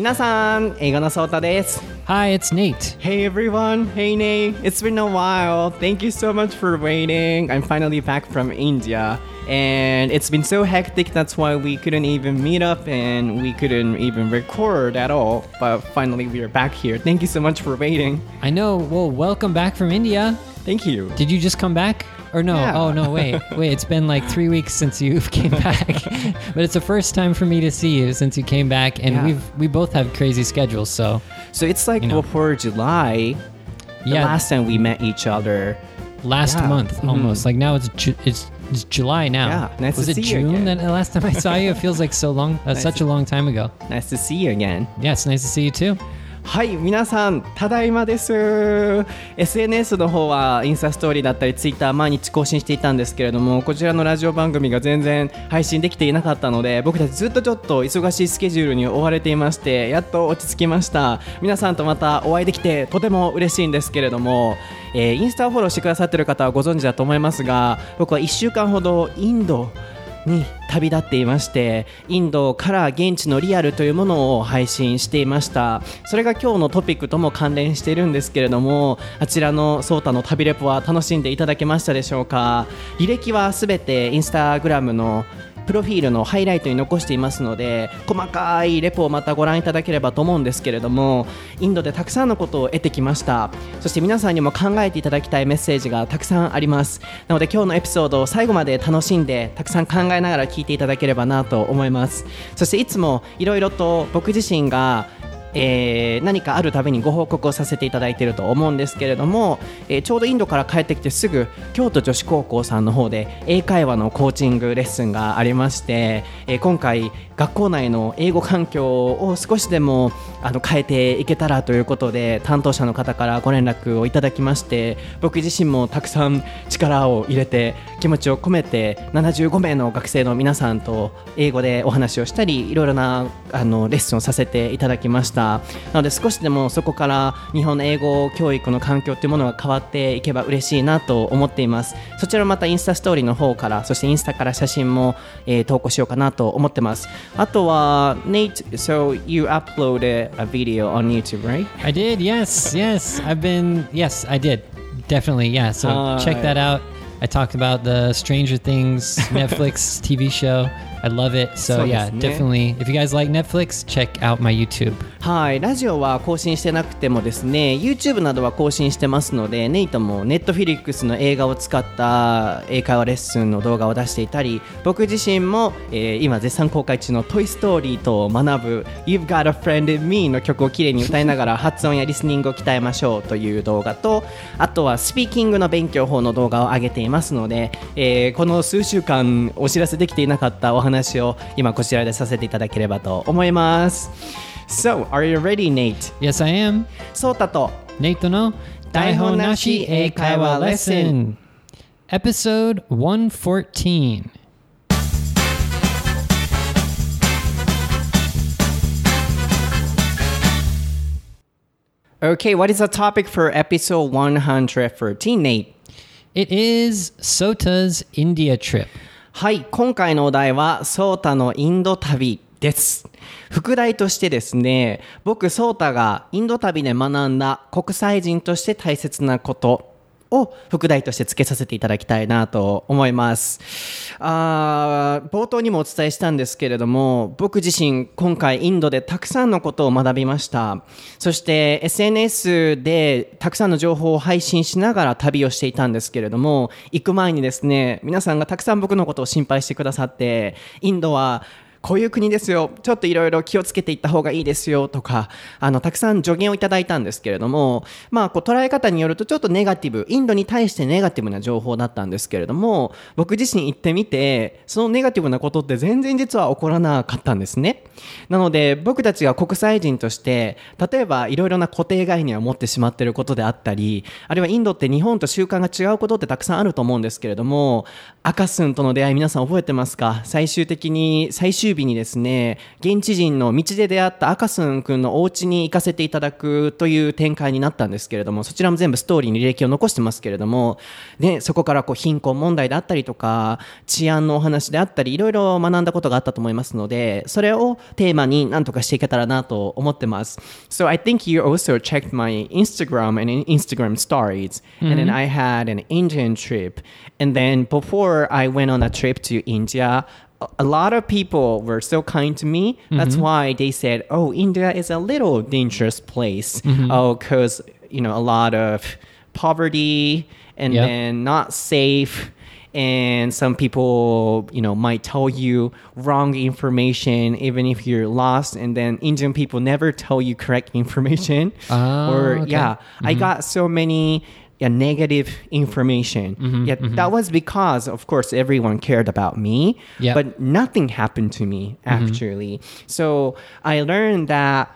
皆さん、英語のソータです。 Hi, it's Nate. Hey everyone, hey Nate. It's been a while. Thank you so much for waiting. I'm finally back from India. And it's been so hectic, that's why we couldn't even meet up and we couldn't even record at all. But finally we are back here. Thank you so much for waiting. I know. Well, welcome back from India. Thank you. Did you just come back? Or no? Yeah. Oh, no, wait. It's been like 3 weeks since you came back. But it's the first time for me to see you since you came back. And Yeah. we both have crazy schedules, so... So it's like before July, the last time we met each other. Last month, almost. Like now it's July now. Yeah, nice Was to it see you June again. that the last time I saw you? It feels like so long, such a long time ago. Nice to see you again. Yeah, it's nice to see you too. はい、皆さん、ただいまです。SNS の方はインスタストーリーだったりツイッター毎日更新していたんですけれども、こちらのラジオ番組が全然配信できていなかったので、僕たちずっとちょっと忙しいスケジュールに追われていまして、やっと落ち着きました。皆さんとまたお会いできてとても嬉しいんですけれども、インスタをフォローしてくださっている方はご存知だと思いますが、僕は1週間ほどインドに旅立っていまして、インドから現地のリアルというものを配信していました。それが今日のトピックとも関連しているんですけれども、あちらのソータの旅レポは楽しんでいただけましたでしょうか。履歴はすべてインスタグラムのプロフィールのハイライトに残していますので、細かいレポをまたご覧いただければと思うんですけれども、インドでたくさんのことを得てきました。そして皆さんにも考えていただきたいメッセージがたくさんあります。なので今日のエピソードを最後まで楽しんでたくさん考えながら聞いていただければなと思います。そしていつもいろいろと僕自身が何かあるたびにご報告をさせていただいていると思うんですけれども、ちょうどインドから帰ってきてすぐ京都女子高校さんの方で英会話のコーチングレッスンがありまして、今回学校内の英語環境を少しでも変えていけたらということで担当者の方からご連絡をいただきまして、僕自身もたくさん力を入れて気持ちを込めて75名の学生の皆さんと英語でお話をしたり、いろいろなレッスンをさせていただきました。なので少しでもそこから日本の英語教育の環境というものが変わっていけば嬉しいなと思っています。そちらまたインスタストーリーの方から、そしてインスタから写真も、投稿しようかなと思ってます。あとは Nate, so you uploaded a video on YouTube, right? I did, yes. Yes, I did. Definitely, yeah. So check that out. I talked about the Stranger Things Netflix TV show. I love it. So yeah, definitely. If you guys like Netflix, check out my YouTube. はい、ラジオは更新してなくてもですね、YouTube などは更新してますので、ネイトも Netflix の映画を使った英会話レッスンの動画を出していたり、僕自身も、今絶賛公開中のトイストーリーと学ぶ You've Got a Friend in Me の曲をきれいに歌いながら発音やリスニングを鍛えましょうという動画と、あとはスピーキングの勉強法の動画を上げていますので、この数週間お知らせできていなかったお話を今こちらでさせていただければと思います。So, are you ready, Nate? Yes, I am. ソータと Nate の台本なし英会話レッスン Episode 114. Okay, what is the topic for episode 114, Nate? It is Sota's India trip. はい、今回のお題はソータのインド旅です。副題としてですね、僕ソータがインド旅で学んだ国際人として大切なことを副題として付けさせていただきたいなと思います。冒頭にもお伝えしたんですけれども、僕自身今回インドでたくさんのことを学びました。そして SNS でたくさんの情報を配信しながら旅をしていたんですけれども、行く前にですね、皆さんがたくさん僕のことを心配してくださって、インドはこういう国ですよ、ちょっといろいろ気をつけていった方がいいですよとか、たくさん助言をいただいたんですけれども、捉え方によるとちょっとネガティブ、インドに対してネガティブな情報だったんですけれども、僕自身行ってみて、そのネガティブなことって全然実は起こらなかったんですね。なので僕たちが国際人として、例えばいろいろな固定概念を持ってしまっていることであったり、あるいはインドって日本と習慣が違うことってたくさんあると思うんですけれども、赤スンとの出会い皆さん覚えてますか？最終日にですね、現地人の道で出会った赤スン君のお家に行かせていただくという展開になったんですけれども、そちらも全部ストーリーに履歴を残してますけれども、ね、そこから貧困問題であったりとか、治安のお話であったり、いろいろ学んだことがあったと思いますので、それをテーマに何とかしていけたらなと思ってます。So I think you also checked my Instagram and Instagram stories, and then I had an Indian trip, and then before I went on a trip to India, a lot of people were so kind to me. That's why they said, "Oh, India is a little dangerous place. Oh, because a lot of poverty and then not safe." And some people, might tell you wrong information even if you're lost. And then Indian people never tell you correct information. I got so many negative information. That was because, of course, everyone cared about me. But nothing happened to me, actually. So I learned that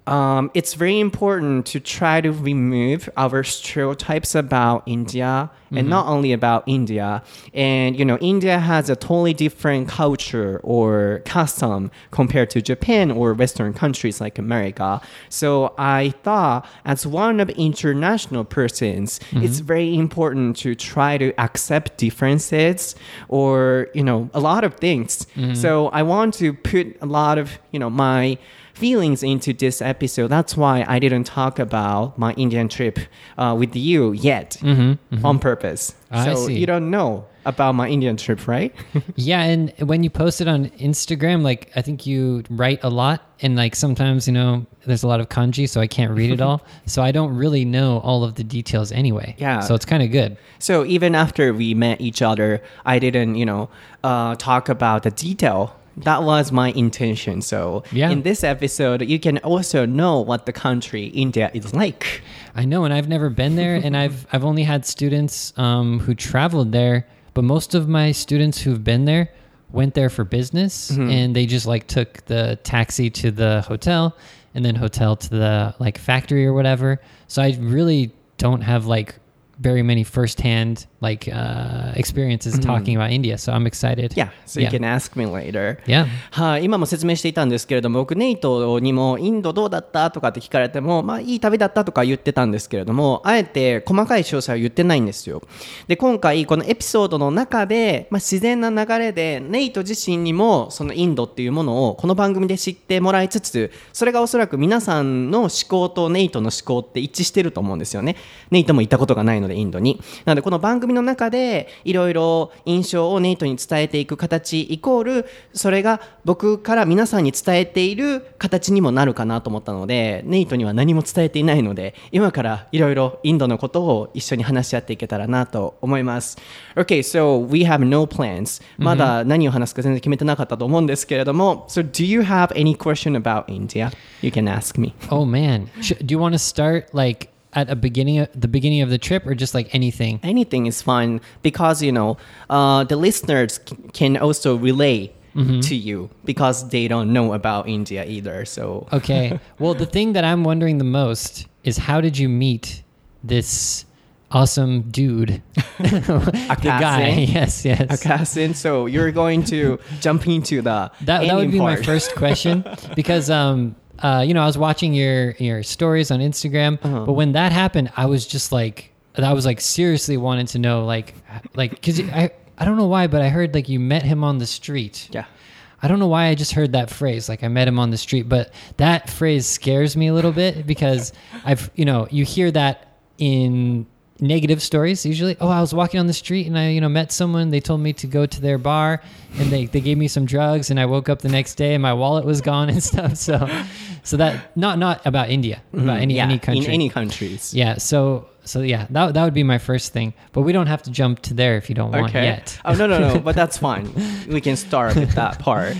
it's very important to try to remove our stereotypes about India, and not only about India. And, India has a totally different culture or custom compared to Japan or Western countries like America. So I thought, as one of international persons, it's very important to try to accept differences or, a lot of things. So I want to put a lot of, my feelings into this episode. That's why I didn't talk about my Indian trip with you yet on purpose. So you don't know about my Indian trip, right? Yeah, and when you post it on Instagram, I think you write a lot, and sometimes, there's a lot of kanji, so I can't read it all. So I don't really know all of the details anyway. Yeah. So it's kind of good. So even after we met each other, I didn't, talk about the detail. That was my intention. So in this episode, you can also know what the country India is like. I know, and I've never been there, and I've only had students who traveled there, but most of my students who've been there went there for business, and they just took the taxi to the hotel, and then hotel to the factory or whatever. So I really don't have very many firsthand experiences talking about India, so I'm excited. Yeah, so you can ask me later. Yeah. はい、今も説明していたんですけれども、僕ネイトにもインドどうだったとかって聞かれても、いい旅だったとか言ってたんですけれども、あえて細かい詳細は言ってないんですよ。で、今回このエピソードの中で、自然な流れでネイト自身にもそのインドっていうものをこの番組で知ってもらいつつ、それがおそらく皆さんの思考とネイトの思考って一致してると思うんですよね。ネイトも行ったことがないのでインドに。なのでこの番組の中でいろいろ印象をネイトに伝えていく形イコール、それが僕から皆さんに伝えている形にもなるかなと思ったので、ネイトには何も伝えていないので、今からいろいろインドのことを一緒に話し合っていけたらなと思います。Okay, so we have no plans. まだ何を話すか全然決めてなかったと思うんですけれども、So do you have any question about India? You can ask me. Oh man, do you want to start at the beginning of the trip, or just anything? Anything is fine, because the listeners can also relate to you because they don't know about India either. So okay, well, the thing that I'm wondering the most is, how did you meet this awesome dude? The guy. Yes. Akasin. So you're going to jump into that would be part. My first question, because I was watching your stories on Instagram, but when that happened, I was just seriously wanted to know, because I don't know why, but I heard you met him on the street. Yeah. I don't know why I just heard that phrase, I met him on the street, but that phrase scares me a little bit, because you hear that in negative stories usually. Oh, I was walking on the street and I met someone, they told me to go to their bar, and they gave me some drugs, and I woke up the next day and my wallet was gone and stuff. So that not about India, about any country. In any countries. Yeah, so yeah, that would be my first thing, but we don't have to jump to there if you don't want yet. Oh no, but that's fine. We can start with that part.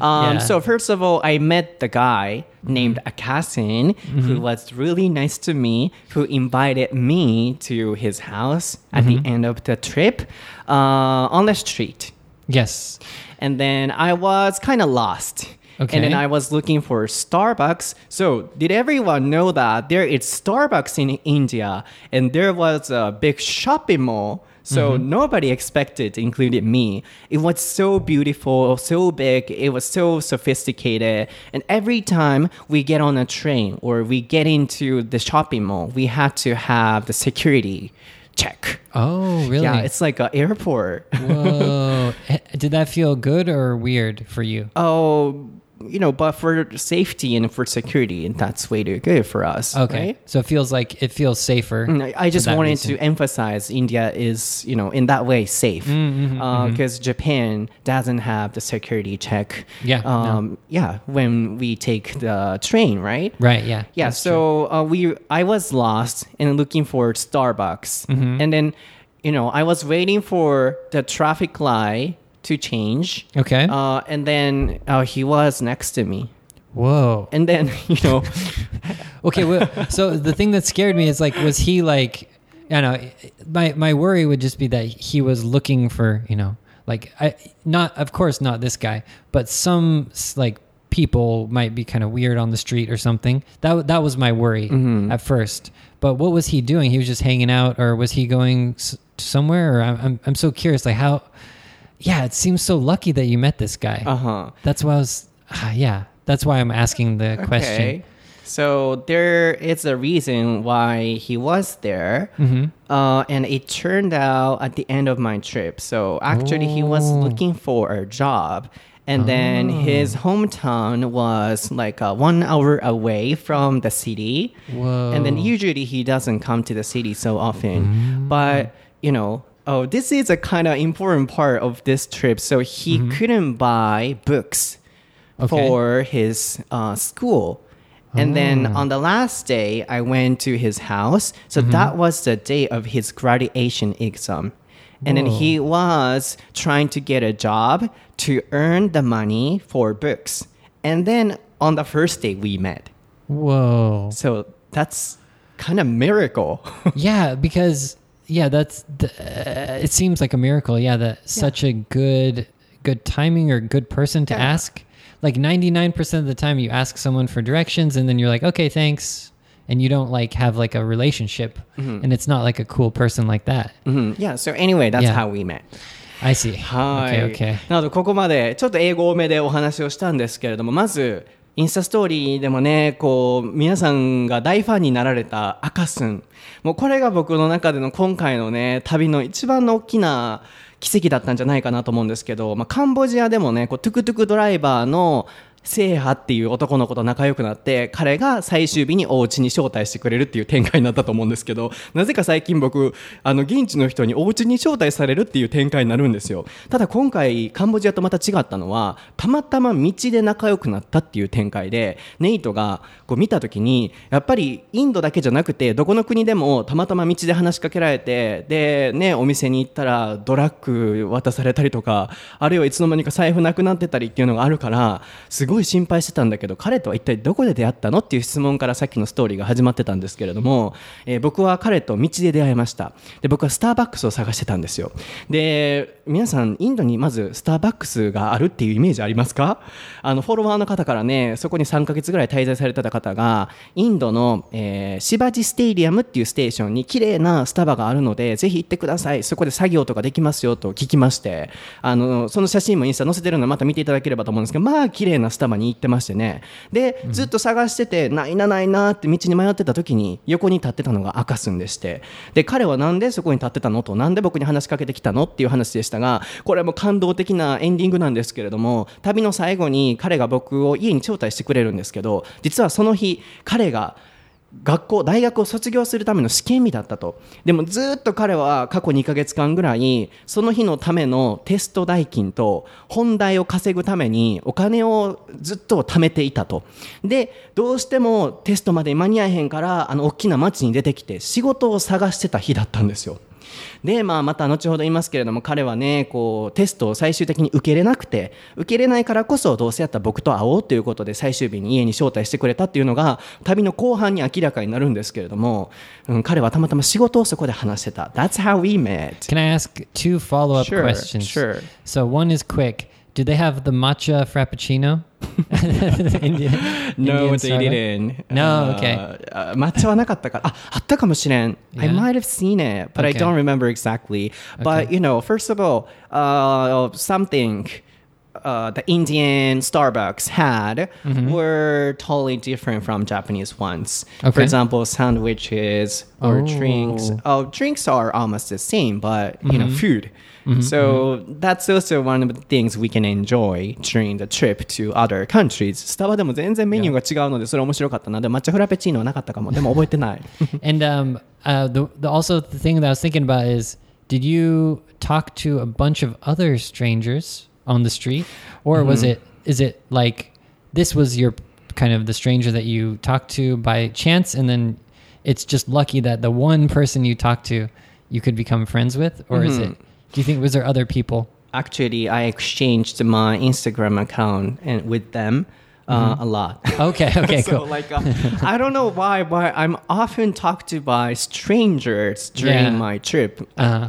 So first of all, I met the guy named Akasin, who was really nice to me, who invited me to his house at the end of the trip on the street. Yes. And then I was kind of lost. Okay. And then I was looking for Starbucks. So did everyone know that there is Starbucks in India, and there was a big shopping mall So nobody expected, including me. It was so beautiful, so big, it was so sophisticated. And every time we get on a train or we get into the shopping mall, we had to have the security check. Oh, really? Yeah, it's like an airport. Whoa. Did that feel good or weird for you? Oh, but for safety and for security, that's way too good for us. Okay. Right? So it feels safer. I just wanted to emphasize India is, in that way safe. Because Japan doesn't have the security check. Yeah. When we take the train, right? Right, yeah. Yeah, so I was lost and looking for Starbucks. And then, I was waiting for the traffic light to change. Okay. And then he was next to me. Whoa. And then, Okay, well, so the thing that scared me is was he like, I don't know, my worry would just be that he was looking for, of course not this guy, but some people might be kind of weird on the street or something. That was my worry at first. But what was he doing? He was just hanging out, or was he going somewhere? Or I'm so curious, how. Yeah, it seems so lucky that you met this guy. That's why that's why I'm asking the question. Okay. So there is a reason why he was there. And it turned out at the end of my trip. So actually he was looking for a job. And then his hometown was 1 hour away from the city. Whoa. And then usually he doesn't come to the city so often. But, this is a kind of important part of this trip. So he couldn't buy books for his school. And then on the last day, I went to his house. So that was the day of his graduation exam. And then he was trying to get a job to earn the money for books. And then on the first day, we met. Whoa. So that's kind of miracle. Yeah, because... Yeah, it seems like a miracle. Yeah, such a good timing or good person to ask. 99% of the time you ask someone for directions and then you're like, okay, thanks. And you don't have a relationship. And it's not a cool person like that. Yeah, so anyway, that's how we met. I see. はい。 Okay. なのでここまでちょっと英語多めでお話をしたんですけれども、まずインスタストーリーでもね、皆さんが大ファンになられたアカスン。もうこれが僕の中での今回のね、旅の一番の大きな奇跡だったんじゃないかなと思うんですけど、カンボジアでもね、トゥクトゥクドライバーのセイハっていう男の子と仲良くなって、彼が最終日にお家に招待してくれるっていう展開になったと思うんですけど、なぜか最近僕現地の人にお家に招待されるっていう展開になるんですよ。ただ今回カンボジアとまた違ったのは、たまたま道で仲良くなったっていう展開で、ネイトが見た時にやっぱりインドだけじゃなくてどこの国でもたまたま道で話しかけられて、でね、お店に行ったらドラッグ渡されたりとか、あるいはいつの間にか財布なくなってたりっていうのがあるから、すごい心配してたんだけど、彼とは一体どこで出会ったのっていう質問からさっきのストーリーが始まってたんですけれども、僕は彼と道で出会いました。で、僕はスターバックスを探してたんですよ。で、皆さんインドにまずスターバックスがあるっていうイメージありますか？フォロワーの方からね、そこに3ヶ月ぐらい滞在されてた方が、インドの、シバジステイリアムっていうステーションに綺麗なスタバがあるので、ぜひ行ってください。そこで作業とかできますよと聞きまして、その写真もインスタ載せてるのでまた見ていただければと思うんですけど、まあ綺麗なスタバに行ってましてね。で、ずっと探してて、ないなって道に迷ってた時に横に立ってたのがアカスンでして、で、彼はなんでそこに立ってたのと、なんで僕に話しかけてきたのっていう話でしたが、これも感動的なエンディングなんですけれども、旅の最後に彼が僕を家に招待してくれるんですけど、実はその日彼が大学を卒業するための試験日だったと。でもずっと彼は過去2ヶ月間ぐらいその日のためのテスト代金と本題を稼ぐためにお金をずっと貯めていたと。で、どうしてもテストまで間に合えへんから大きな街に出てきて仕事を探してた日だったんですよ。で、また後ほど言いますけれども、彼はね、テストを最終的に受けれなくて、受けれないからこそどうせやったら僕と会おうということで最終日に家に招待してくれたっていうのが旅の後半に明らかになるんですけれども、彼はたまたま仕事をそこで話してた。That's how we met. Can I ask two follow-up questions? Sure. So one is quick. Do they have the matcha frappuccino? Indian No, they Starbucks? didn't. No, okay. 抹茶はなかったから。あったかもしれん。I Yeah. might have seen it, but I Okay. don't remember exactly. But, first of all, something the Indian Starbucks had were totally different from Japanese ones. For Okay. example, sandwiches or Oh. drinks. Drinks are almost the same, but, food. So that's also one of the things we can enjoy during the trip to other countries. スタバでも全然メニューが違うのでそれ面白かったな。でも抹茶フラペチーノはなかったかも。でも覚えてない。 And also the thing that I was thinking about is, did you talk to a bunch of other strangers on the street, or is it like this was your kind of the stranger that you talked to by chance, and then it's just lucky that the one person you talked to you could become friends with, or is it? Do you think was there other people? Actually, I exchanged my Instagram account and with them a lot. Okay, So cool. like I don't know why, but I'm often talked to by strangers during Yeah. my trip.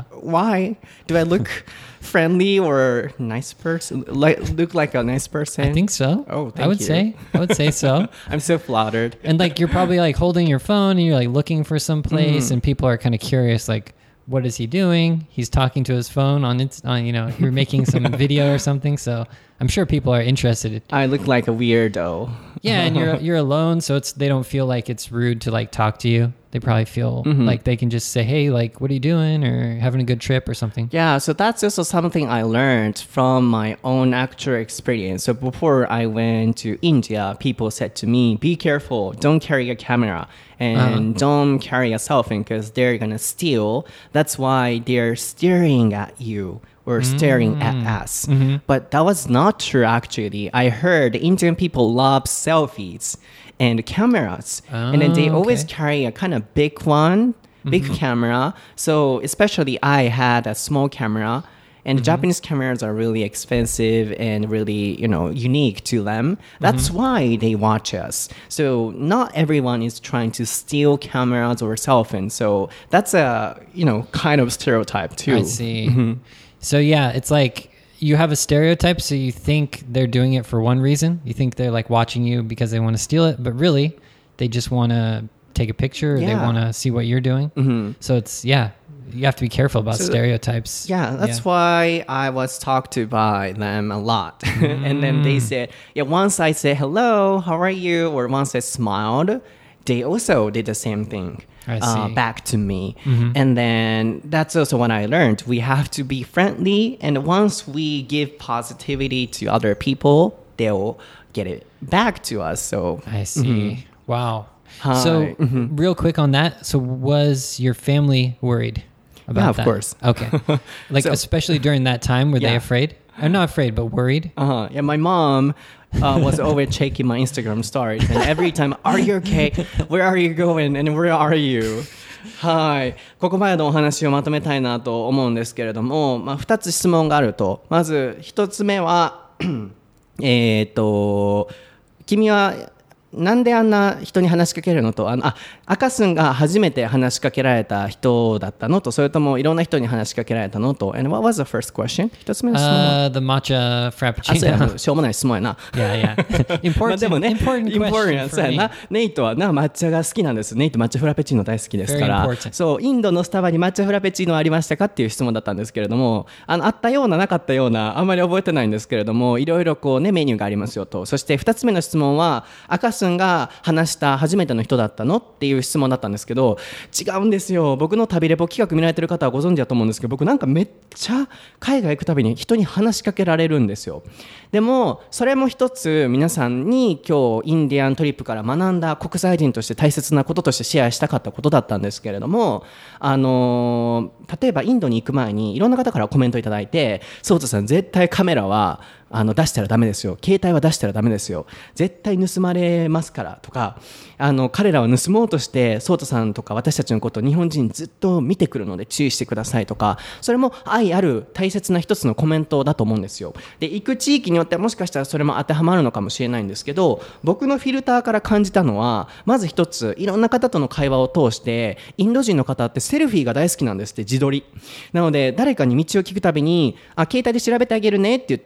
Why do I look friendly or nice person? Look like a nice person? I think so. Oh, thank I would you. say so. I'm so flattered. And like you're probably like holding your phone and you're like looking for some place, and people are kind of curious, like, what is he doing? He's talking to his phone on you're making some video or something. So I'm sure people are interested. I look like a weirdo. Yeah, and you're alone, so they don't feel like it's rude to like talk to you. They probably feel like they can just say, "Hey, like, what are you doing?" or "Having a good trip" or something. Yeah, so that's also something I learned from my own actual experience. So before I went to India, people said to me, be careful, don't carry a camera and don't carry a cell phone because they're going to steal. That's why they're staring at you or staring at us. But that was not true actually. I heard Indian people love selfies and cameras. And then they always carry a kind of big one, big camera. So especially I had a small camera, and Japanese cameras are really expensive and really, unique to them. That's why they watch us. So not everyone is trying to steal cameras or cell phones. So that's a, kind of stereotype too. I see. So yeah, it's like you have a stereotype, so you think they're doing it for one reason. You think they're like watching you because they want to steal it, but really they just want to take a picture. Or they Yeah. want to see what you're doing. So it's, you have to be careful about stereotypes. Yeah, that's why I was talked to by them a lot. And then they said, once I said, hello, how are you? Or once I smiled, they also did the same thing I see. back to me. And then that's also what I learned. We have to be friendly. And once we give positivity to other people, they'll get it back to us. So I see. Wow. Hi. So real quick on that. So was your family worried about Yeah, of that? course. Okay. Like especially during that time, were they Yeah. afraid? I'm not afraid, but worried. Yeah, my mom was always checking my Instagram stories, and every time, "Are you okay? Where are you going? And where are you?" はい、ここまでのお話をまとめたいなと思うんですけれども、2つ質問があると。まず1つ目は君はなんであんな人に話しかけるのと、赤すんが初めて話しかけられた人だったのと、それともいろんな人に話しかけられたのと。And what was the first question? 一つ目の質問は、 The matcha そうや frappuccino. な、しょうもない質問やな。 Yeah. まあ Important. でもね、 important question そう for や me. な。ネイトはな、抹茶が好きなんです。ネイト抹茶フラペチーノ大好きですか Very ら important. そう、インドのスタバに抹茶フラペチーノありましたかっていう質問だったんですけれども、あったようななかったような、あんまり覚えてないんですけれども、いろいろこうねメニューがありますよと。そして2つ目の質問は、赤すんが話した初めての人だったのっていう質問だったんですけど、違うんですよ。僕の旅レポ企画見られてる方はご存知だと思うんですけど、僕なんかめっちゃ海外行くたびに人に話しかけられるんですよ。でもそれも一つ皆さんに今日インディアントリップから学んだ国際人として大切なこととしてシェアしたかったことだったんですけれども、例えばインドに行く前にいろんな方からコメントいただいて、ソウトさん絶対カメラは出したらダメですよ、携帯は出したらダメですよ、絶対盗まれますからとか、彼らは盗もうとしてソウトさんとか私たちのことを日本人ずっと見てくるので注意してくださいとか、それも愛ある大切な一つのコメントだと思うんですよ。で、行く地域によってはもしかしたらそれも当てはまるのかもしれないんですけど、僕のフィルターから感じたのは、まず一つ、いろんな方との会話を通してインド人の方ってセルフィーが大好きなんですって。自撮りなので誰かに道を聞くたびに携帯で調べてあげるねって言って調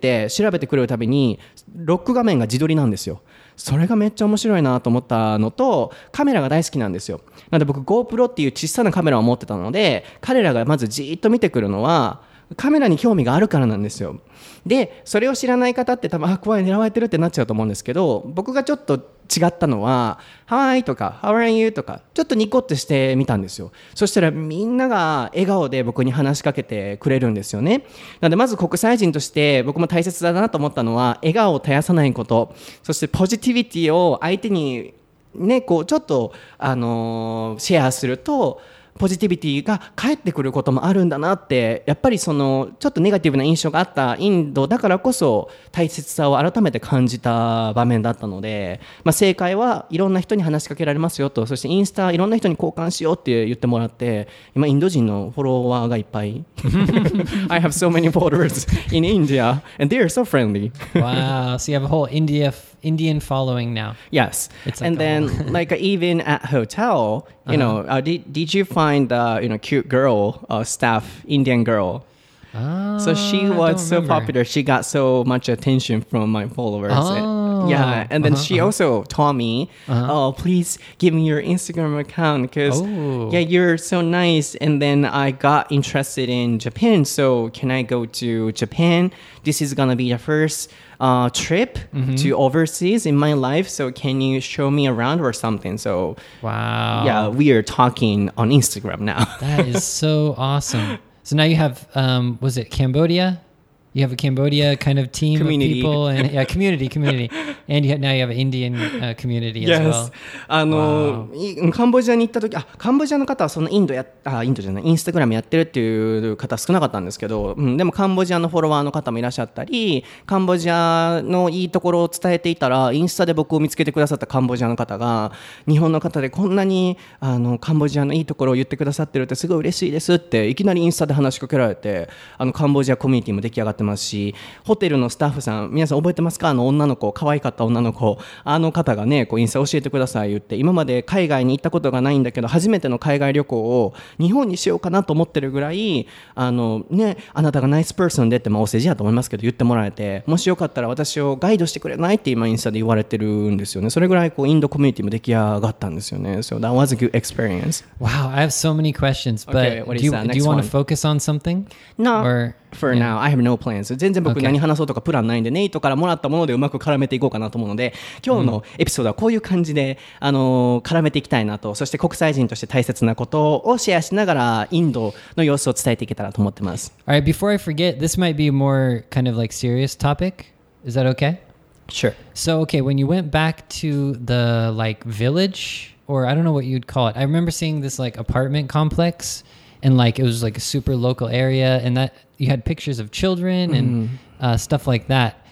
べてくれるたびにロック画面が自撮りなんですよ。それがめっちゃ面白いなと思ったのと、カメラが大好きなんですよ。なので僕 GoPro っていう小さなカメラを持ってたので、彼らがまずじーっと見てくるのはカメラに興味があるからなんですよ。でそれを知らない方って多分怖い狙われてるってなっちゃうと思うんですけど、僕がちょっと違ったのは Hi とか How are you とかちょっとニコってしてみたんですよ。そしたらみんなが笑顔で僕に話しかけてくれるんですよね。なのでまず国際人として僕も大切だなと思ったのは笑顔を絶やさないこと、そしてポジティビティを相手にねこうちょっとシェアするとポジティビティが返ってくることもあるんだなって、やっぱりそのちょっとネガティブな印象があったインドだからこそ大切さを改めて感じた場面だったので、正解はいろんな人に話しかけられますよと、そしてインスタいろんな人に交換しようって言ってもらって、今インド人のフォロワーがいっぱいI have so many followers in India and they are so friendly. Wow, so you have a whole Indian following now. Yes. It's and then like even at hotel, you know, did you find cute girl staff, Indian girl? So she was so popular. She got so much attention from my followers. Yeah, and then she also told me, "Oh, please give me your Instagram account because yeah, you're so nice." And then I got interested in Japan. So can I go to Japan? This is gonna be the first trip to overseas in my life. So can you show me around or something? So wow, yeah, we are talking on Instagram now. That is so awesome. So now you have, was it Cambodia? You have a Cambodia kind of team community. Of people and community, and now you have an Indian community as well. カンボジアに行った時、カンボジアの方はそのインドじゃない、インスタグラムやってるっていう方少なかったんですけど、でもカンボジアのフォロワーの方もいらっしゃったり、カンボジアのいいところを伝えていたら、インスタで僕を見つけてくださったカンボジアの方が、日本の方でこんなにカンボジアのいいところを言ってくださってるってすごい嬉しいですっていきなりインスタで話しかけられて、カンボジアコミュニティも出来上がってますし、ホテルのスタッフさん皆さん覚えてますか？女の子、可愛かった女の子、方がねこうインスタ教えてください言って、今まで海外に行ったことがないんだけど初めての海外旅行を日本にしようかなと思ってるぐらいあなたがナイスパーソンでってお世辞やと思いますけど言ってもらえて、もしよかったら私をガイドしてくれないって今インスタで言われてるんですよね。それぐらいこうインドコミュニティも出来上がったんですよね。So that was a good experience. Wow, I have so many questions, but okay, do you want to focus on something? No. Or, For now, I have no plans. 全然僕何話そうとかプランないんで、ネイトからもらったものでうまく絡めていこうかなと思うので、今日のエピソードはこういう感じで、絡めていきたいなと、そして国際人として大切なことをシェアしながらインドの様子を伝えていけたらと思ってます。 Alright, before I forget, this might be a more kind of like serious topic. Is that okay? Sure. So, okay, when you went back to the like village, or I don't know what you'd call it, I remember seeing this like apartment complex, and like it was like a super local area, and that you had pictures of children and stuff like that.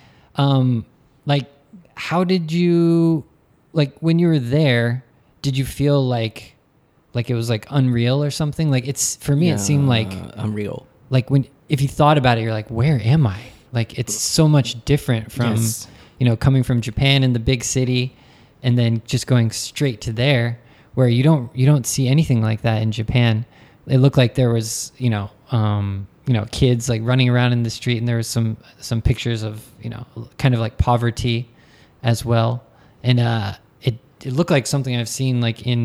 Like, how did you, like when you were there, did you feel like it was like unreal or something? Like it's, for me, it seemed like unreal. Like if you thought about it, you're like, where am I? Like it's so much different from, coming from Japan in the big city and then just going straight to there, where you don't see anything like that in Japan. It looked like there was, kids like running around in the street, and there was some pictures of, kind of like poverty as well. And it looked like something I've seen like in,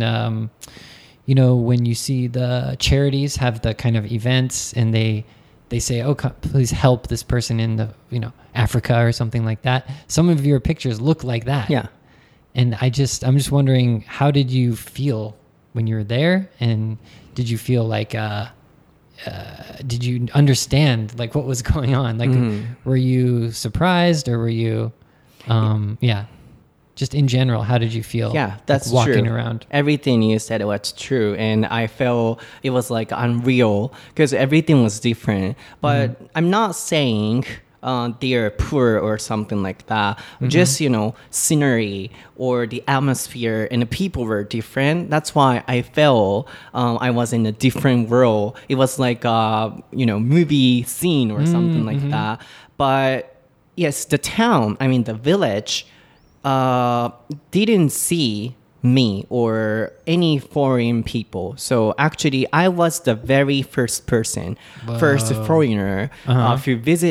when you see the charities have the kind of events and they say, oh, please help this person in the, Africa or something like that. Some of your pictures look like that. Yeah. And I'm just wondering, how did you feel when you were there? And did you feel like, did you understand like what was going on? Like, were you surprised, or were you, just in general, how did you feel? Yeah, that's like, walking true. Around? Everything you said was true, and I felt it was like unreal because everything was different. But I'm not saying they are poor or something like that. Just, scenery or the atmosphere and the people were different. That's why I felt I was in a different world. It was like a, movie scene or something like that. But yes, the town, the village, didn't see me or any foreign people. So actually, I was the very first person, first foreigner who visited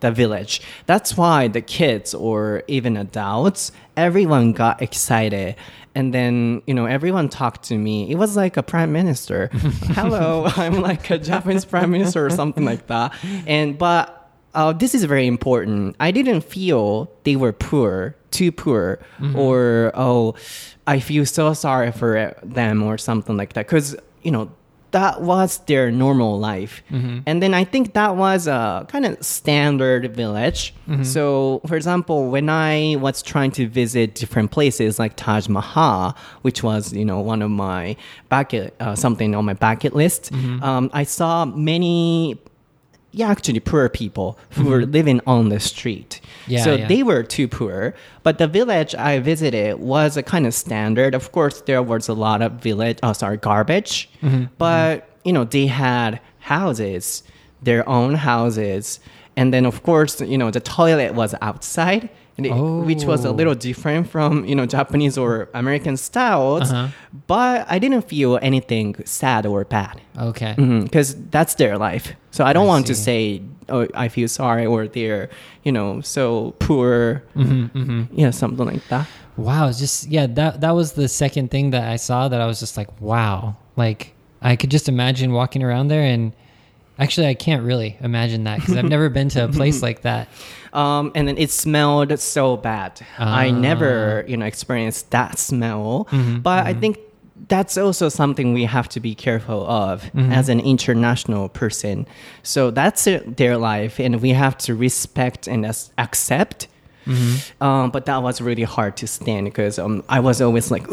the village. That's why the kids or even adults, everyone got excited. And then, everyone talked to me. It was like a prime minister. Hello, I'm like a Japanese prime minister or something like that. But this is very important. I didn't feel they were too poor, or, I feel so sorry for them or something like that. Because, that was their normal life. And then I think that was a kind of standard village. So, for example, when I was trying to visit different places like Taj Mahal, which was, one of my something on my bucket list, I saw many actually poor people who were living on the street. They were too poor. But the village I visited was a kind of standard. Of course, there was a lot of garbage. But, they had houses, their own houses. And then, of course, the toilet was outside. Which was a little different from, Japanese or American styles. But I didn't feel anything sad or bad. Okay. Because that's their life. So I don't want to say, I feel sorry or they're, so poor. Something like that. Wow. That was the second thing that I saw that I was just like, wow. Like, I could just imagine walking around there, and actually I can't really imagine that because I've never been to a place like that. And then it smelled so bad. I never, experienced that smell. But I think that's also something we have to be careful of as an international person. So that's their life, and we have to respect and accept. But that was really hard to stand because I was always like,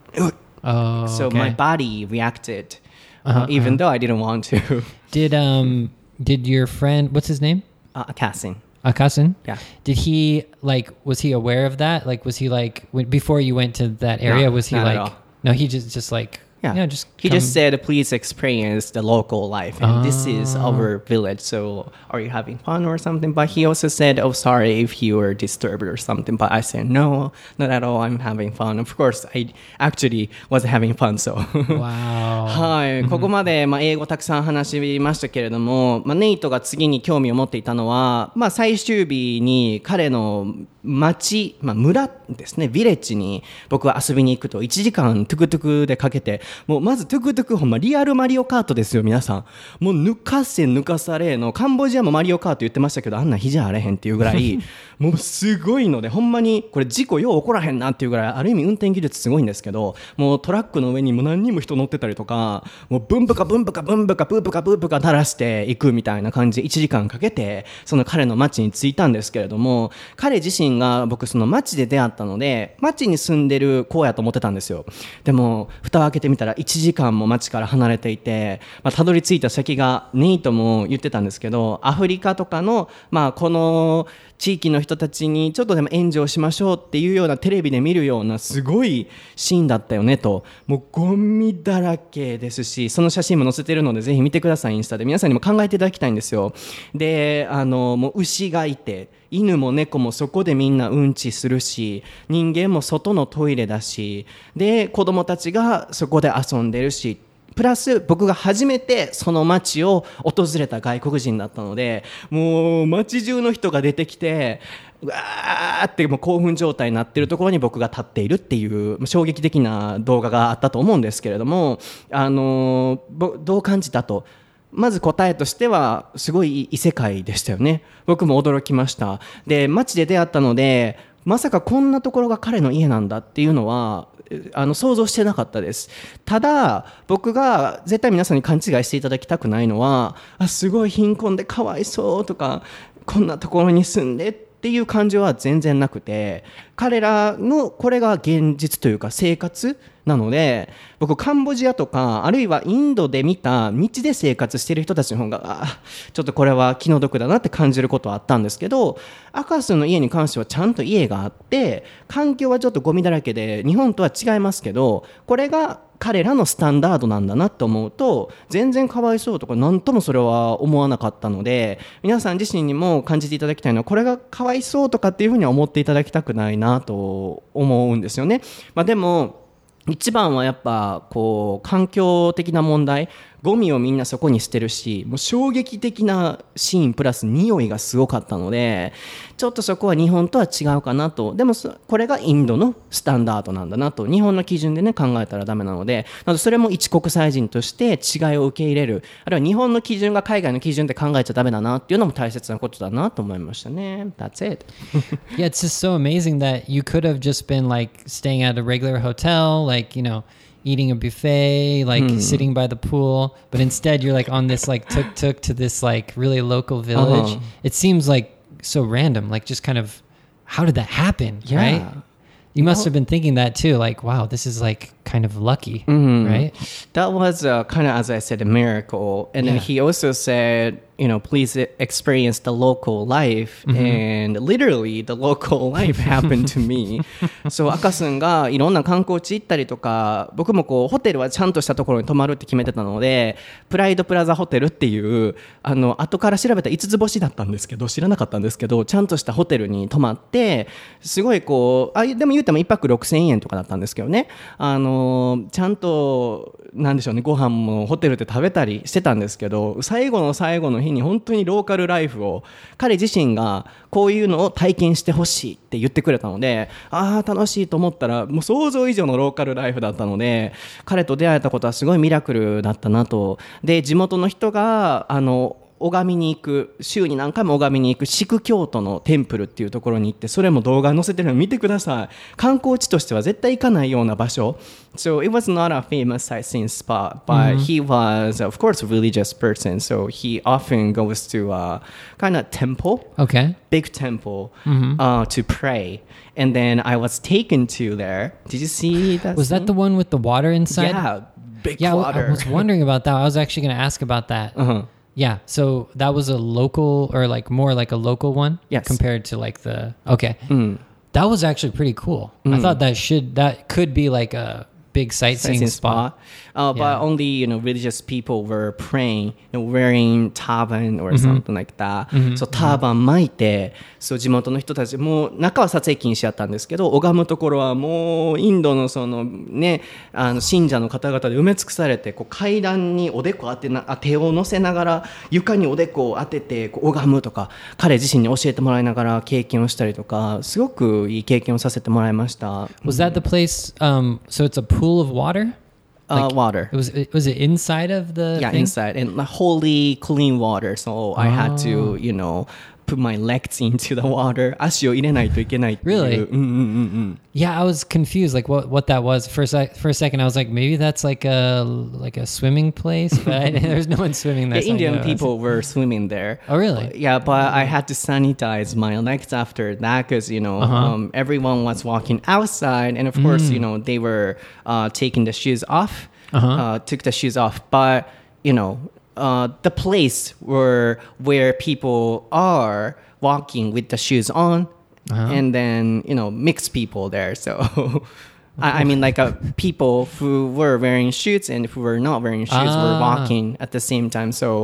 so my body reacted, even though I didn't want to. Did your friend, what's his name? Akasin? Yeah. Did he, was he aware of that? Was he before you went to that area, was he no, he just he just said, please experience the local life. And this is our village. So are you having fun or something? But he also said, sorry if you were disturbed or something. But I said, no, not at all. I'm having fun. Of course, I actually was having fun. So. Wow. はい。ここまで、英語たくさん話しましたけれども、ネイトが次に興味を持っていたのは、最終日に彼の町、村ですね、ビレッジに僕は遊びに行くと1時間トゥクトゥクでかけて、もうまずトゥクトゥクほんまリアルマリオカートですよ皆さん。もう抜かせ抜かされのカンボジアもマリオカート言ってましたけど、あんな日じゃあれへんっていうぐらいもうすごいので、ほんまにこれ事故よう起こらへんなっていうぐらい、ある意味運転技術すごいんですけど、もうトラックの上にもう何人も人乗ってたりとか、もうブンブカブンブカブンブカブーブカブーブカ垂らしていくみたいな感じで1時間かけてその彼の町に着いたんですけれども、彼自身が僕その町で出会ったので町に住んでる子やと思ってたんですよ。でも蓋を開けてみたら1時間も町から離れていて、たどり着いた先がネイトも言ってたんですけど、アフリカとかの、この地域の人たちにちょっとでも援助をしましょうっていうようなテレビで見るようなすごいシーンだったよねと。もうゴミだらけですし、その写真も載せてるのでぜひ見てください。インスタで皆さんにも考えていただきたいんですよ。で、もう牛がいて犬も猫もそこでみんなうんちするし、人間も外のトイレだし、で子供たちがそこで遊んでるし、プラス僕が初めてその街を訪れた外国人だったので、もう街中の人が出てきてうわーってもう興奮状態になっているところに僕が立っているっていう衝撃的な動画があったと思うんですけれども、どう感じたと。まず答えとしてはすごい異世界でしたよね。僕も驚きました。で、街で出会ったのでまさかこんなところが彼の家なんだっていうのは想像してなかったです。ただ僕が絶対皆さんに勘違いしていただきたくないのは、すごい貧困でかわいそうとかこんなところに住んでっていう感情は全然なくて、彼らのこれが現実というか生活なので、僕カンボジアとかあるいはインドで見た道で生活している人たちの方がちょっとこれは気の毒だなって感じることはあったんですけど、アカスの家に関してはちゃんと家があって環境はちょっとゴミだらけで日本とは違いますけど、これが彼らのスタンダードなんだなと思うと全然かわいそうとか何ともそれは思わなかったので、皆さん自身にも感じていただきたいのはこれがかわいそうとかっていうふうには思っていただきたくないなと思うんですよね。でも一番はやっぱこう環境的な問題、 ゴミをみんなそこに捨てるし、もう衝撃的なシーンプラス匂いがすごかったので、ちょっとそこは日本とは違うかなと。でもこれがインドのスタンダードなんだなと、日本の基準でね考えたらダメなので、なのでそれも一国際人として違いを受け入れる、あるいは日本の基準が海外の基準で考えちゃダメだなっていうのも大切なことだなと思いましたね。That's it. Yeah, it's just so amazing that you could have just been like staying at a regular hotel, like, you know, eating a buffet, like sitting by the pool, but instead you're like on this like tuk-tuk to this like really local village. It seems like so random, like just kind of, how did that happen, right? You must have been thinking that too, like, wow, this is like kind of lucky, right? That was kind of, as I said, a miracle. And then he also said, you know, please experience the local life. And literally the local life happened to me. そう、赤すんがいろんな観光地行ったりとか、僕もこうホテルはちゃんとしたところに泊まるって決めてたので、プライドプラザホテルっていう後から調べた5つ星だったんですけど、知らなかったんですけど、ちゃんとしたホテルに泊まって、すごいこうでも言っても1泊6000円とかだったんですけどね、ちゃんとなんでしょうね、ご飯もホテルで食べたりしてたんですけど、最後の最後の日に本当にローカルライフを彼自身がこういうのを体験してほしいって言ってくれたので、ああ楽しいと思ったらもう想像以上のローカルライフだったので、彼と出会えたことはすごいミラクルだったなと。で、地元の人が拝みに行く、週に何回も拝みに行くシク教徒のテンプルっていうところに行って、それも動画載せてるの見てください。観光地としては絶対行かないような場所。So it was not a famous sightseeing spot, but he was, of course, a religious person. So he often goes to a kind of temple, big temple, to pray. And then I was taken to there. Did you see that? Was that the one with the water inside? Yeah, big water. I was wondering about that. I was actually going to ask about that. Yeah, so that was a local, or like more like a local one, compared to like the that was actually pretty cool. I thought that could be like a big sightseeing spot. But only, you know, religious people were praying, you know, wearing turban or something like that. So turban 巻いて、そう地元の人たちもう中は撮影禁止やったんですけど、拝むところはもうインドのそのね、信者の方々で埋め尽くされて、こう階段におでこ手を乗せながら床におでこを当ててこう拝むとか、彼自身に教えてもらいながら経験をしたりとか、すごくいい経験をさせてもらいました。 Was that the place? So it's a pool of water? Like, water. Was it inside of the thing? Inside, and wholly clean water. So I had to, you know, put my legs into the water. 足を入れないといけないっていう。 Really? Yeah, I was confused, like what that was. For a second, I was like, maybe that's like a swimming place, but there's no one swimming there. The Indian people were swimming there. Oh, really? Yeah, but I had to sanitize my legs after that because, you know, everyone was walking outside, and of course, you know, they were taking the shoes off, took the shoes off, but, you know, the place where people are walking with the shoes on, and then, you know, mixed people there. So I mean, like people who were wearing shoes and who were not wearing shoes were walking at the same time. So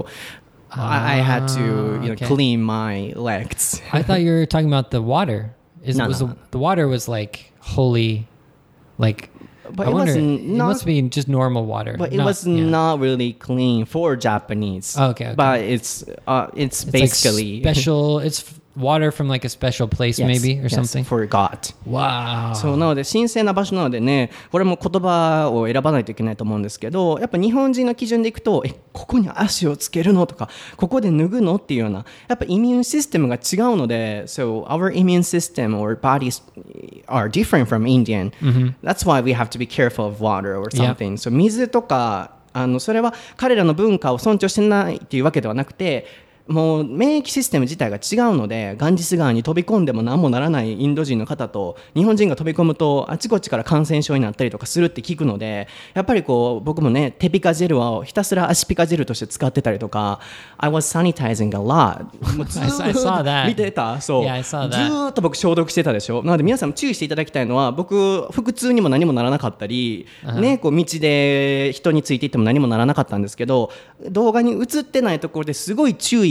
I had to, you know, clean my legs. I thought you were talking about the water. No. The water was like holy, like. But I wonder, it must be just normal water. But it was not really clean for Japanese. Okay. But it's basically like special. It's water from like a special place, maybe, or something. For God. Wow. そうなので神聖な場所なのでね、これも言葉を選ばないといけないと思うんですけど、やっぱ日本人の基準でいくと、ここに足をつけるのとか、ここで脱ぐのっていうような、やっぱイミューンシステムが違うので、so our immune system or bodies are different from Indian. That's why we have to be careful of water or something. So 水とかそれは彼らの文化を尊重してないっていうわけではなくて。もう免疫システム自体が違うので、ガンジス川に飛び込んでも何もならないインド人の方と日本人が飛び込むとあちこちから感染症になったりとかするって聞くので、やっぱりこう僕もね、テピカジェルをひたすら足ピカジェルとして使ってたりとか、 I was sanitizing a lot. もうず I saw that. 見てた。そう、 yeah, I saw that. ずーっと僕消毒してたでしょ。なので皆さんも注意していただきたいのは、僕腹痛にも何もならなかったり、ね、こう道で人についていっても何もならなかったんですけど、動画に映ってないところですごい注意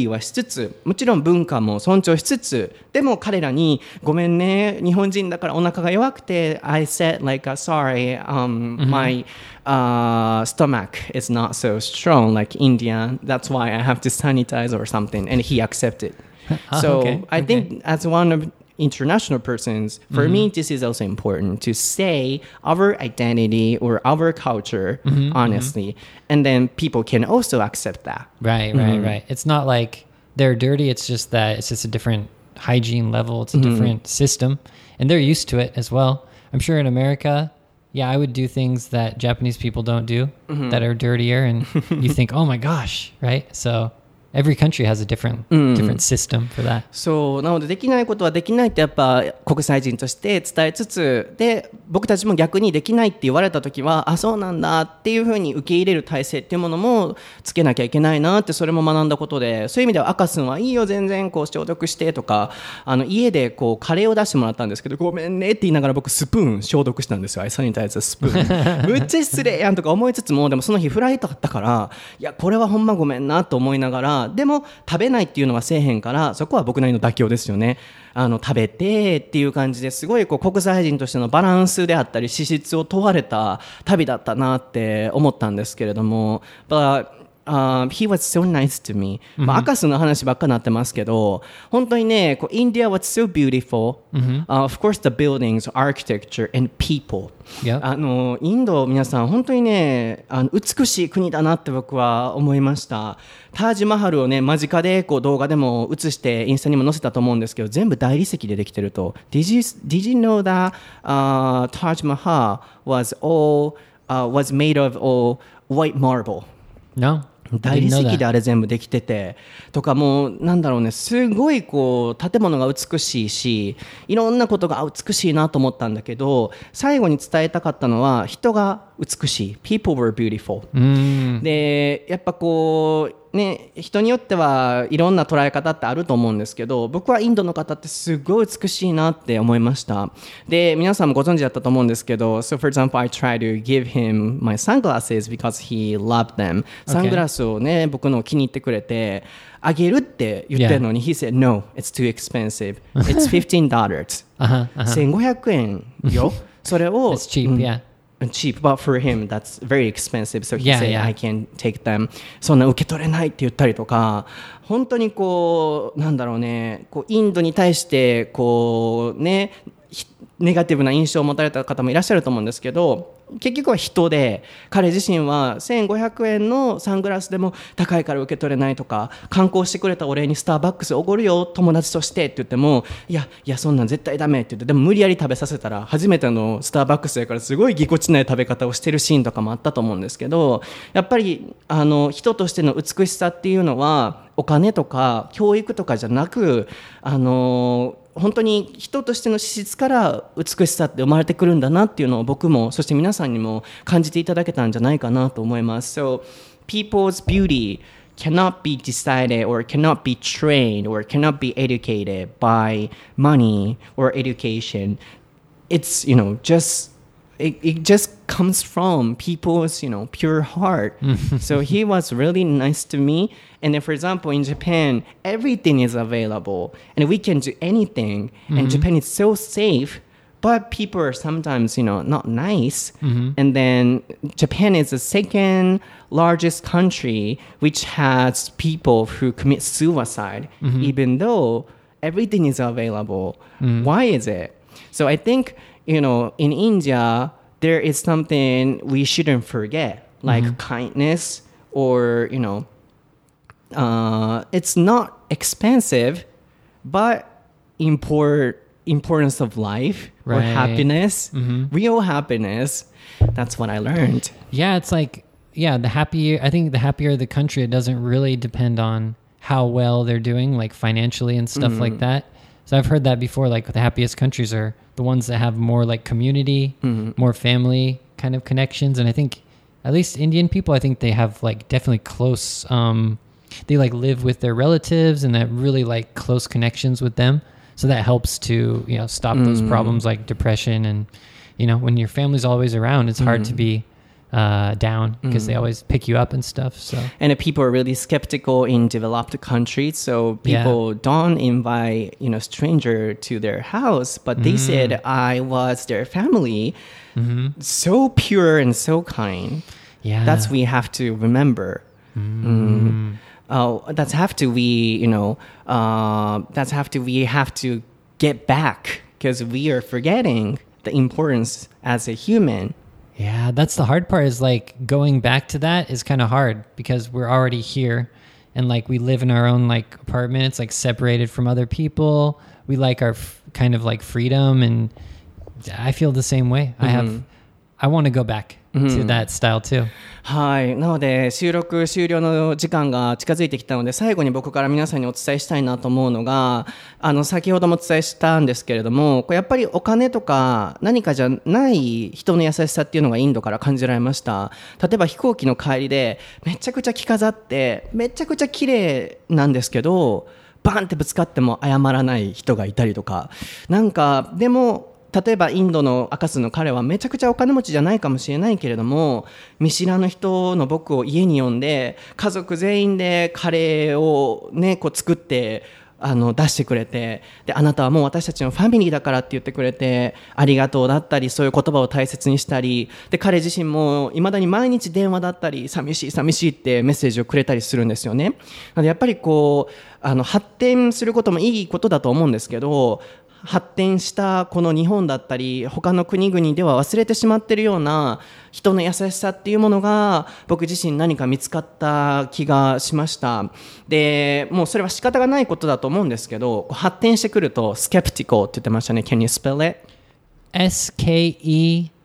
ーはしつつ、もちろん文化も尊重しつつ、でも彼らにごめんね、日本人だからお腹が弱くて I said like sorry, my stomach is not so strong like Indian, that's why I have to sanitize or something, and he accepted. So I think as one of international persons, for me this is also important to say our identity or our culture honestly, and then people can also accept that. Right. It's not like they're dirty, it's just that it's just a different hygiene level, it's a different system, and they're used to it as well. I'm sure in America, yeah, I would do things that Japanese people don't do that are dirtier, and you think, oh my gosh, right? So every country has a different system for that. そうなのでできないことはできないってやっぱ国際人として伝えつつで、僕たちも逆にできないって言われた時はあそうなんだっていうふうに受け入れる体制っていうものもつけなきゃいけないなって、それも学んだことで、そういう意味では赤すんはいいよ全然こう消毒してとか、家でこうカレーを出してもらったんですけど、ごめんねって言いながら僕スプーン消毒したんですよ。アイサニタイズスプーンむっちゃ失礼やんとか思いつつも、でもその日フライトだったからいやこれはほんまごめんなと思いながら、でも食べないっていうのはせえへんから、そこは僕なりの妥協ですよね。食べてっていう感じですごいこう国際人としてのバランスであったり資質を問われた旅だったなって思ったんですけれども、But he was so nice to me. 赤スの話ばっかなってますけど、本当にね、こう India was so beautiful. Of course the buildings, architecture and people. インド皆さん本当にね、美しい国だなって僕は思いました。タージマハルをね間近でこう動画でも映してインスタにも載せたと思うんですけど、全部大理石でできてると。Did you know that Taj Mahal was made of all white marble? No. 大理石であれ全部できててとか、もうなんだろうね、すごいこう建物が美しいし、いろんなことが美しいなと思ったんだけど、最後に伝えたかったのは人が美しい。 People were beautiful、でやっぱこうね、人によってはいろんな捉え方ってあると思うんですけど、僕はインドの方ってすごい美しいなって思いました。で皆さんもご存知だったと思うんですけど、 So for example I try to give him my sunglasses because he loved them、サングラスをね僕の気に入ってくれてあげるって言ってるのに、He said no, it's too expensive, it's $15 1500円よそれを It's cheap, cheap, but for him that's very expensive, so he said I can take them. そんな受け取れないって言ったりとか、本当にこうなんだろうね、こうインドに対してこうねネガティブな印象を持たれた方もいらっしゃると思うんですけど、結局は人で、彼自身は1500円のサングラスでも高いから受け取れないとか、観光してくれたお礼にスターバックスおごるよ友達としてって言っても、いやそんなん絶対ダメって言って、でも無理やり食べさせたら初めてのスターバックスやからすごいぎこちない食べ方をしてるシーンとかもあったと思うんですけど、やっぱり人としての美しさっていうのはお金とか教育とかじゃなく、本当に人としての資質から美しさって生まれてくるんだなっていうのを僕もそして皆さんにも感じていただけたんじゃないかなと思います。So people's beauty cannot be decided or cannot be trained or cannot be educated by money or education. It's it just comes from people's pure heart. So he was really nice to me. And then, for example, in Japan, everything is available and we can do anything. And Japan is so safe, but people are sometimes not nice. And then Japan is the second largest country which has people who commit suicide, even though everything is available. Why is it? So I think in India, there is something we shouldn't forget, like kindness, or it's not expensive, but importance of life, or happiness, real happiness. That's what I learned. Yeah, it's like the happier the country, it doesn't really depend on how well they're doing, like financially and stuff like that. So I've heard that before, like the happiest countries are the ones that have more like community, more family kind of connections. And I think at least Indian people, I think they have like definitely close, they like live with their relatives and that really like close connections with them. So that helps to, stop those problems like depression. And, when your family's always around, it's hard to be down because they always pick you up and stuff. So and people are really skeptical in developed countries, so people don't invite stranger to their house, but they said I was their family. So pure and so kind. That's we have to remember. That's have to we have to get back because we are forgetting the importance as a human. Yeah, that's the hard part is like going back to that is kind of hard because we're already here and like we live in our own like apartment. It's like separated from other people. We like our kind of like freedom, and I feel the same way. I want to go back to that style too. はい、なので収録終了の時間が近づいてきたので最後に僕から皆さんにお伝えしたいなと思うのが先ほどもお伝えしたんですけれどもやっぱりお金とか何かじゃない人の優しさっていうのがインドから感じられました。例えば飛行機の帰りでめちゃくちゃ着飾ってめちゃくちゃ綺麗なんですけどバンってぶつかっても謝らない人がいたりとかなんかでも例えばインドの赤スの彼はめちゃくちゃお金持ちじゃないかもしれないけれども見知らぬ人の僕を家に呼んで家族全員でカレーをねこう作って出してくれてであなたはもう私たちのファミリーだからって言ってくれてありがとうだったりそういう言葉を大切にしたりで彼自身もいまだに毎日電話だったり寂しい寂しいってメッセージをくれたりするんですよね。なのでやっぱりこう発展することもいいことだと思うんですけど発展したこの日本だったり他の国々では忘れてしまっているような人の優しさっていうものが僕自身何か見つかった気がしました。でもうそれは仕方がないことだと思うんですけど発展してくるとスケプティコって言ってましたね。 Can you spell it? SKEPTICLE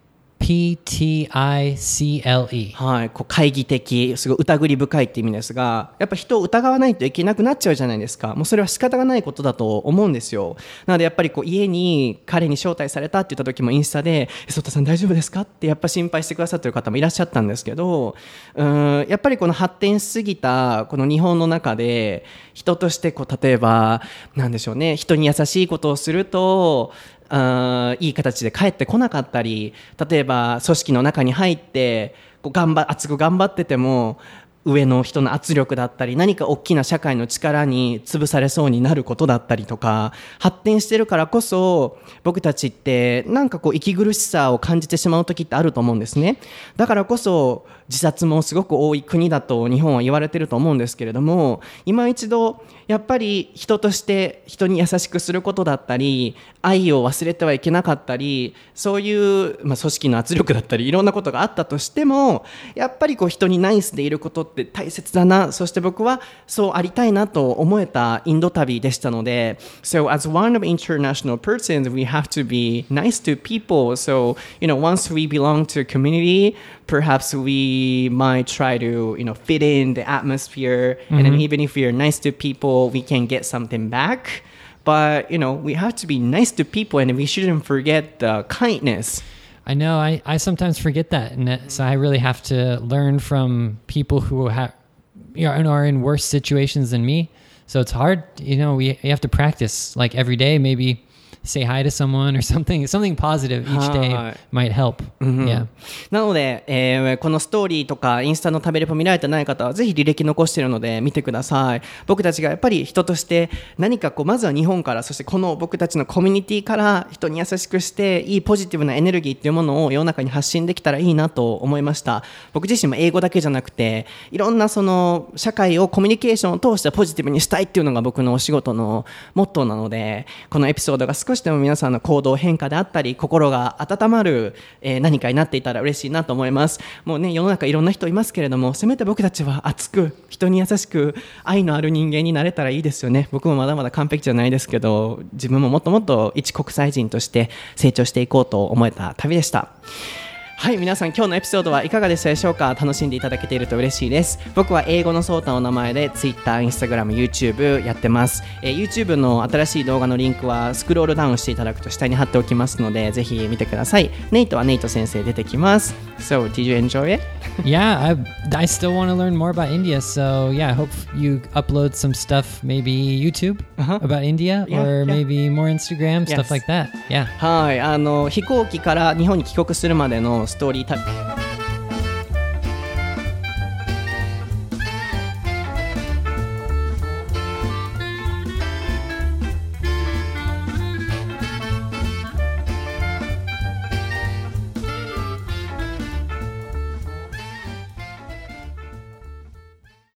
はい、こう懐疑的すごい疑り深いって意味ですがやっぱ人を疑わないといけなくなっちゃうじゃないですか。もうそれは仕方がないことだと思うんですよ。なのでやっぱりこう家に彼に招待されたって言った時もインスタでソタさん大丈夫ですかってやっぱ心配してくださってる方もいらっしゃったんですけどやっぱりこの発展しすぎたこの日本の中で人としてこう例えばなんでしょうね人に優しいことをするといい形で帰ってこなかったり例えば組織の中に入ってこう熱く頑張ってても上の人の圧力だったり何か大きな社会の力に潰されそうになることだったりとか発展してるからこそ僕たちってなんかこう息苦しさを感じてしまう時ってあると思うんですね。だからこそ自殺もすごく多い国だと日本は言われてると思うんですけれども今一度やっぱり人として人に優しくすることだったり愛を忘れてはいけなかったりそういう、組織の圧力だったりいろんなことがあったとしてもやっぱりこう人にナイスでいることって大切だなそして僕はそうありたいなと思えたインド旅でしたので So as one of international persons we have to be nice to people so once we belong to a community perhaps we might try to fit in the atmosphere and then even if we are nice to people we can get something back but we have to be nice to people and we shouldn't forget the kindness. I know I sometimes forget that and so I really have to learn from people who are in worse situations than me so it's hard you have to practice like every day maybe say hi to someone or something positive each day might help. Yeah. なので、このストーリーとかインスタの食べレポ見られてない方はぜひ履歴残しているので見てください。僕たちがやっぱり人として何かこうまずは日本からそしてこの僕たちのコミュニティから人に優しくしていいポジティブなエネルギーっていうものを世の中に発信できたらいいなと思いました。僕自身も英語だけじゃなくていろんなその社会をコミュニケーションを通してポジティブにしたいっていうのが僕のお仕事のモットーなのでこのエピソードが少しでも皆さんの行動変化であったり心が温まる、何かになっていたら嬉しいなと思います。もうね世の中いろんな人いますけれどもせめて僕たちは熱く人に優しく愛のある人間になれたらいいですよね。僕もまだまだ完璧じゃないですけど自分ももっともっと一国際人として成長していこうと思えた旅でした。はい皆さん今日のエピソードはいかがでしたでしょうか。楽しんでいただけていると嬉しいです。僕は英語のソータの名前で Twitter、Instagram、YouTube やってます、YouTube の新しい動画のリンクはスクロールダウンしていただくと下に貼っておきますのでぜひ見てください。ネイトはネイト先生出てきます。 So did you enjoy it? Yeah, I still want to learn more about India so yeah I hope you upload some stuff maybe YouTube about India or maybe more Instagram stuff like that. Yeah はい飛行機から日本に帰国するまでのストーリー